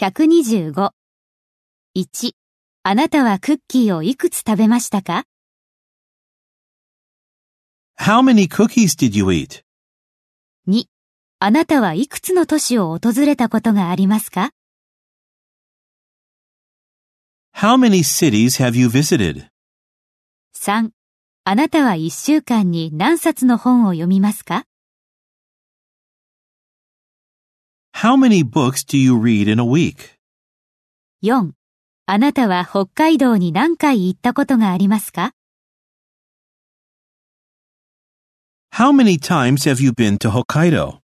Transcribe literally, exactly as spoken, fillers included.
ひゃくにじゅうご。いち、あなたはクッキーをいくつ食べましたか？ How many cookies did you eat? に、あなたはいくつの都市を訪れたことがありますか？ How many cities have you visited? さん、あなたはいっしゅうかんに何冊の本を読みますか？ How many books do you read in a week? よん、あなたは北海道に何回行ったことがありますか？ How many times have you been to Hokkaido?